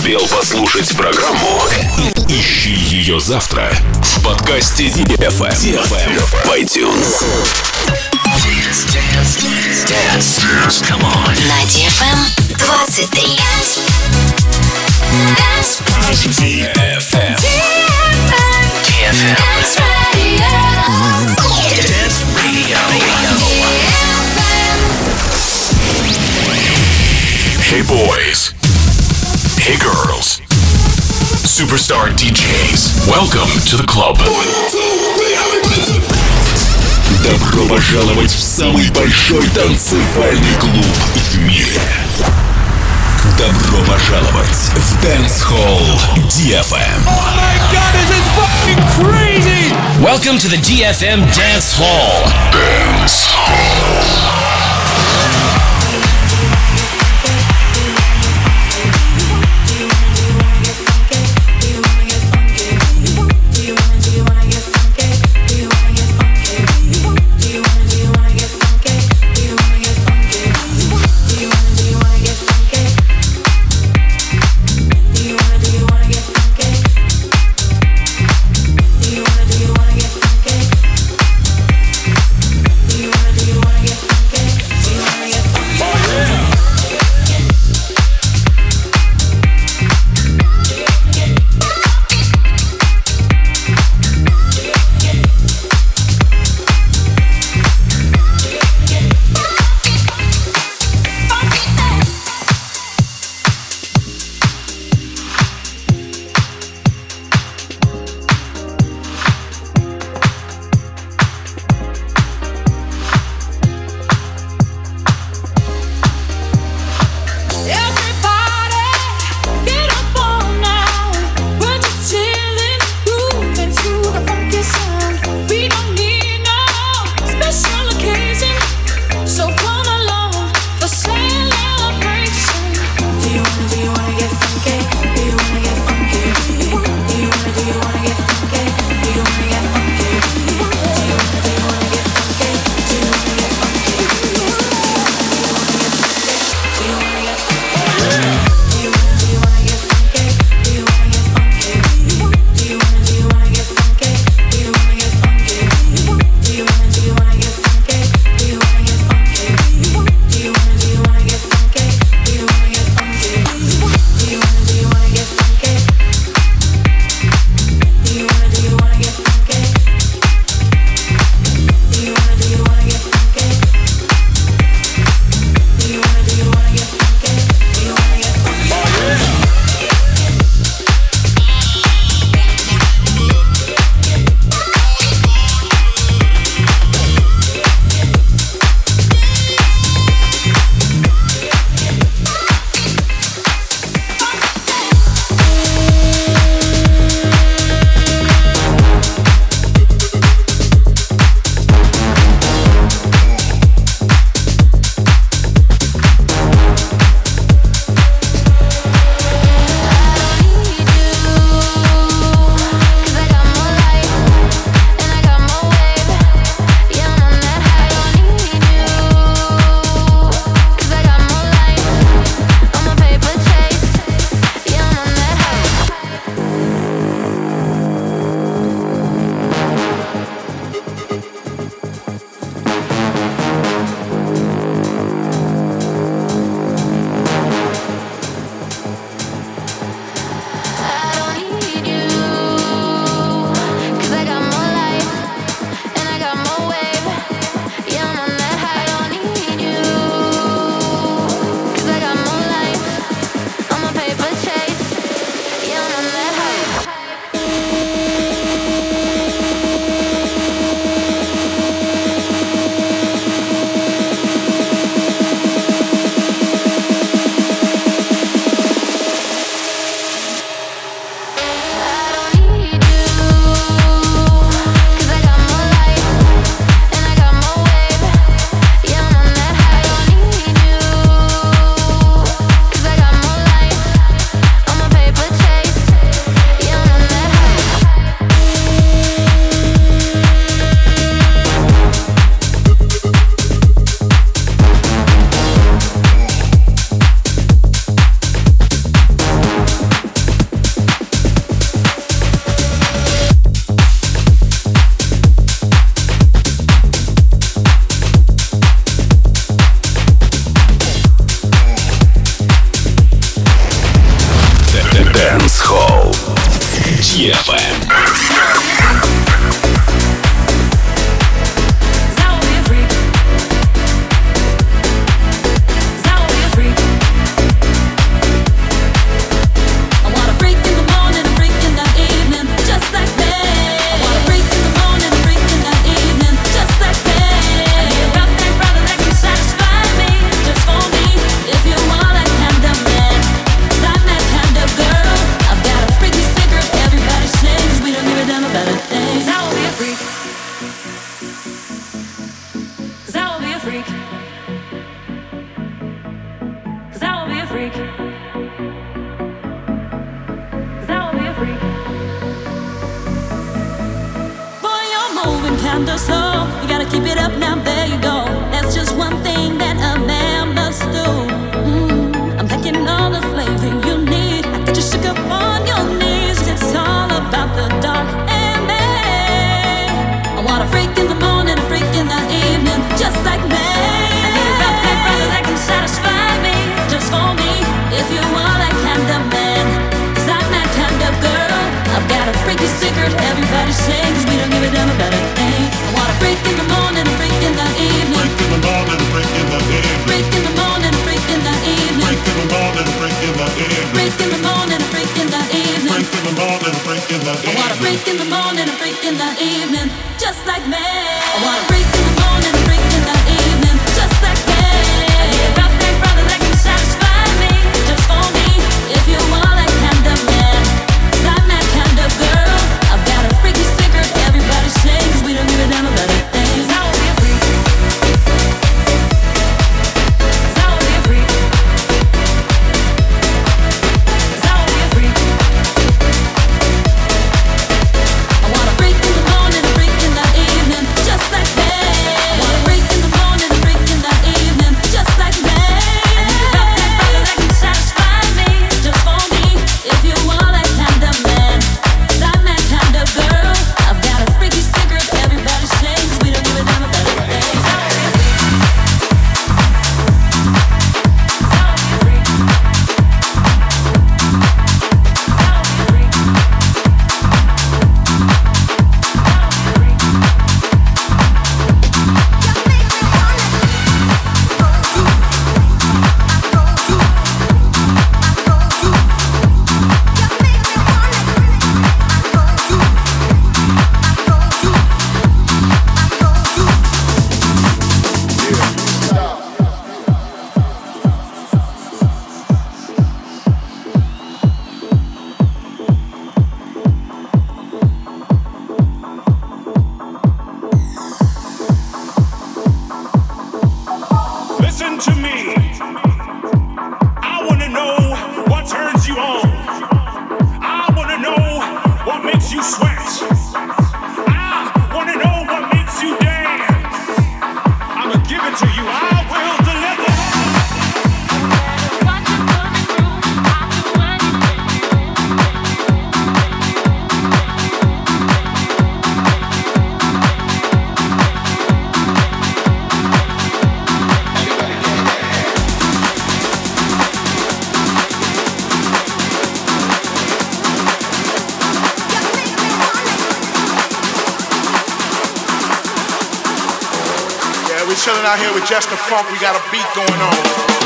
успел послушать программу? Ищи ее завтра в подкасте DFM в iTunes. Dance. Come on. На DFM 23. DFM. Dance Radio. Dance Radio. Hey boys. Hey girls. Superstar DJs. Welcome to the club. Добро пожаловать в самый большой танцевальный клуб в мире. Добро пожаловать в Dance Hall DFM. Oh my god, this is fucking crazy! Welcome to the DFM Dance Hall. Dance Hall. Do you wanna get freak. 'Cause I will be a freak. Boy, you're moving kinda slow. You gotta keep it up now, there you go. That's just one thing that a man must do. I'm thinking all the flavor you need. I get you shook up on your knees. It's all about the dark and me. I want a freak in the morning, a freak in the evening, just like me. I need a rough neck brother that can satisfy me, just for me. If you are that kind of man, 'cause I'm that kind of girl. I've got a freaky secret, everybody sings. We don't give a damn about a thing. I want a freak in the morning, a freak in the evening. Freak in the morning, a freak in the evening. Freak in the morning, a freak in the evening. Freak in the morning, a freak in the evening. Freak in the morning, a freak in the evening. Freak in the morning, a freak in the evening. I want a freak in the morning, a freak in the evening, just like me. I want a freak in the morning, a freak in the evening, just like me. I need a rough neck brother that can satisfy me, just for me. If you are that kind of man, 'cause I'm that kind of girl. I've got a freaky secret, everybody sings. We don't give a damn about a thing. 'Cause I will be a freak. 'Cause I will be a freak. 'Cause I will be a freak. I want a freak in the morning, a freak in the evening, just like me. I want a freak in the morning, a freak in the evening, just like me. I need a rough neck brother that can satisfy me, just for me. If you are that kind of man, 'cause I'm that kind of girl. I've got a freaky secret, everybody sings. We don't give a damn about a thing. 'Cause I will be a freak. 'Cause I will be a freak. 'Cause I will be a freak. 'Cause I will be a freak. Listen to me. I wanna know what turns you on. I wanna know what makes you sweat. I wanna know what makes you dance. I'ma give it to you. I will deliver. We're chilling out here with Just the Funk. We got a beat going on.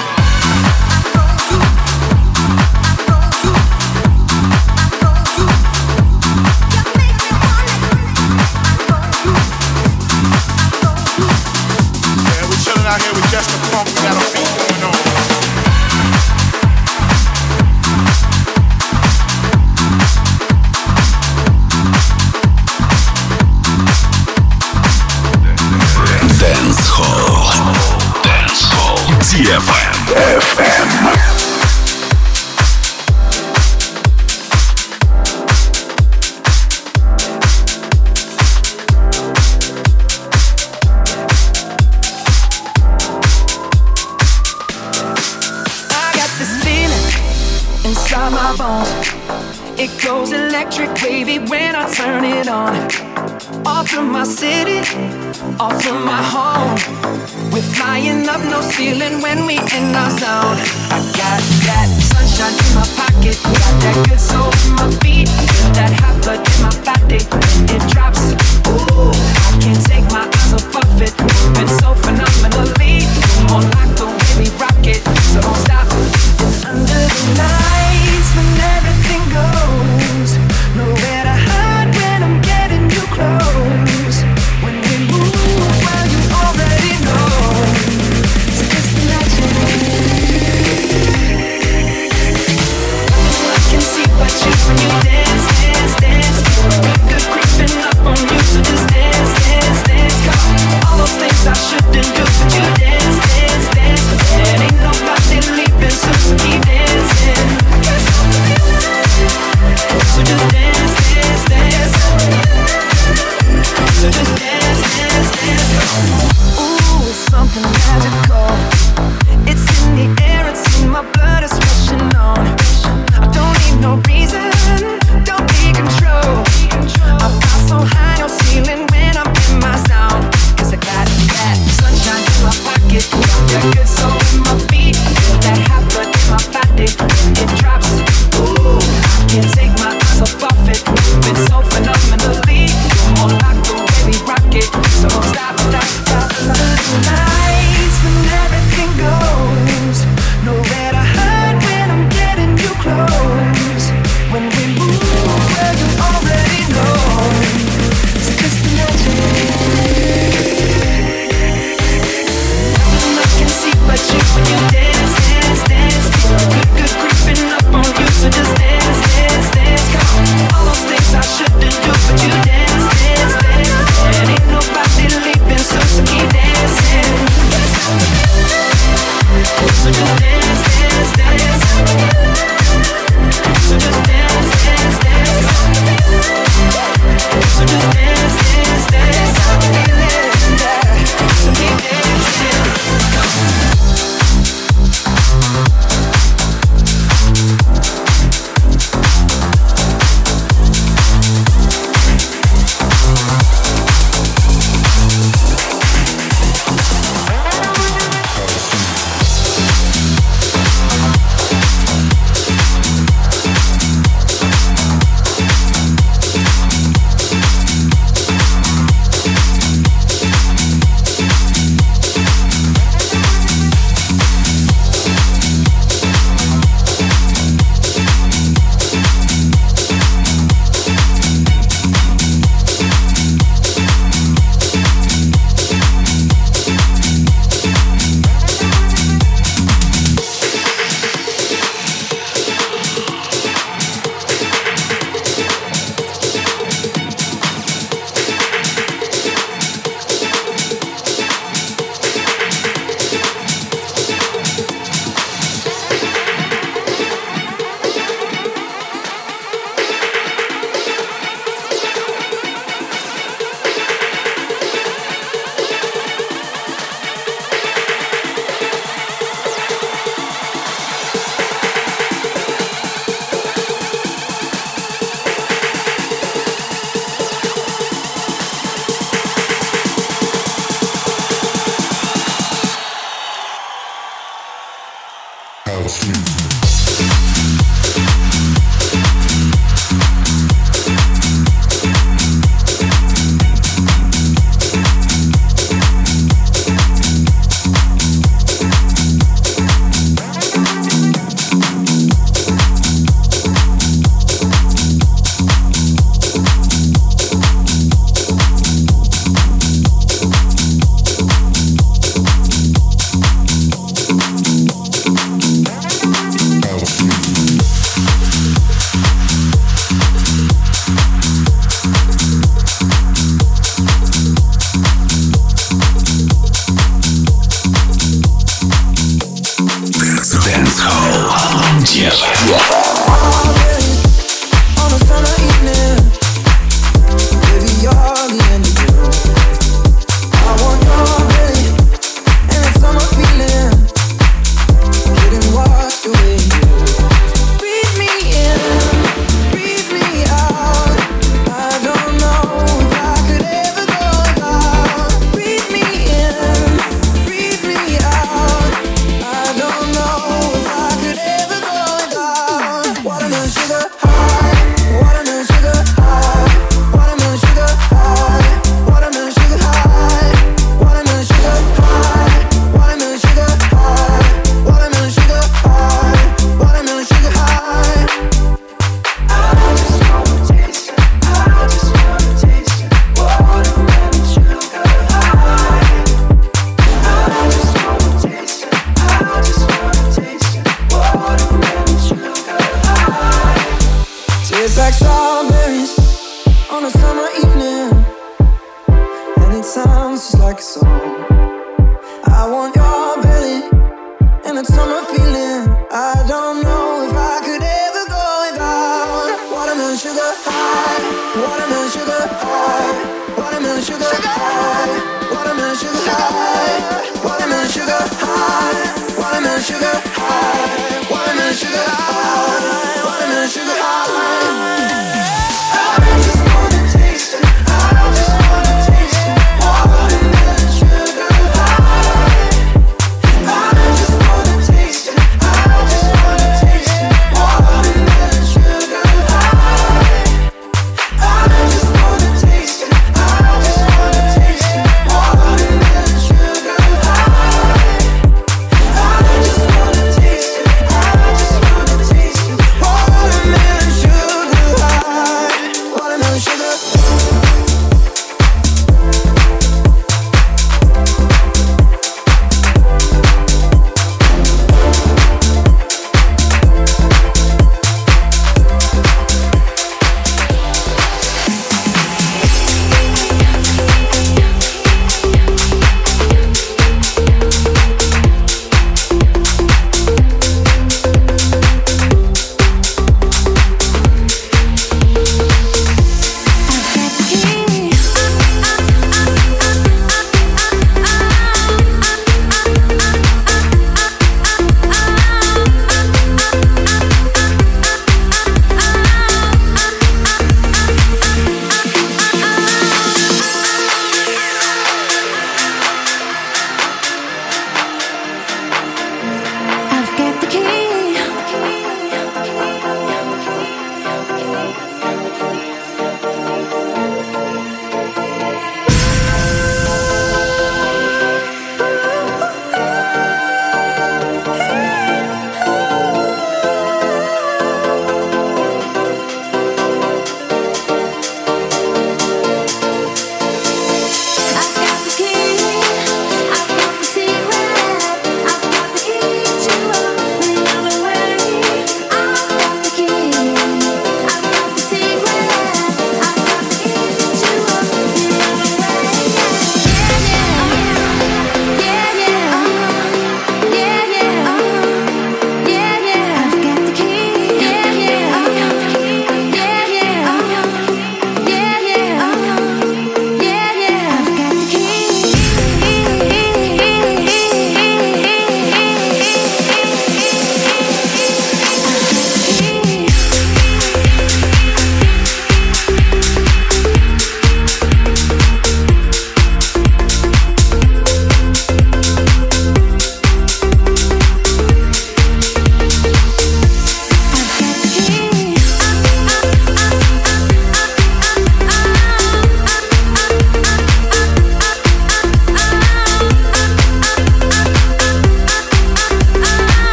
Out here with Just the Funk, we got a beat going on. Dance Hall DFM. Inside my bones, it goes electric wavy when I turn it on. Off from my city, off from my home. We're flying up, no ceiling when we in our zone. I got that sunshine in my pocket, got that good soul in my feet. Feel that hot blood in my body, it drops. Ooh, I can't take my eyes off it. Moving so phenomenally, on like the way we rock it. So don't stop. It's under the lights when everything goes. Nowhere to hide when I'm getting you close. When we move, well you already know. It's just magic. I can see what you when you dance, dance, dance. Good creeping up on you, so just dance, dance, dance. Come on, all those things I should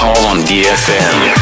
Hall on DFM.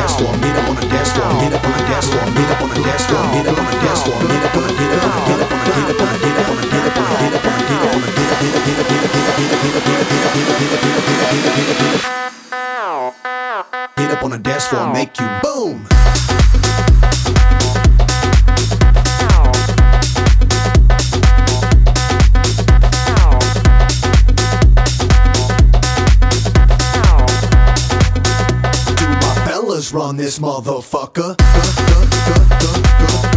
dance floor, meet up on the dance floor, meet up on the dance floor, meet up on the dance floor, meet up on the dance floor, meet up on the get up on the get up on the get up on the get up on the get up on the get up on the get up on the get up on the dance floor, make you boom. Run this motherfucker.